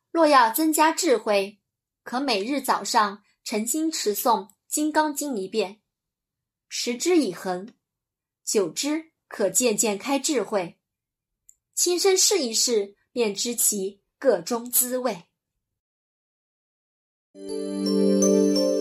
若要增加智慧，可每日早上诚心持诵《金刚经》1遍，持之以恒，久之可渐渐开智慧，亲身试一试，便知其个中滋味。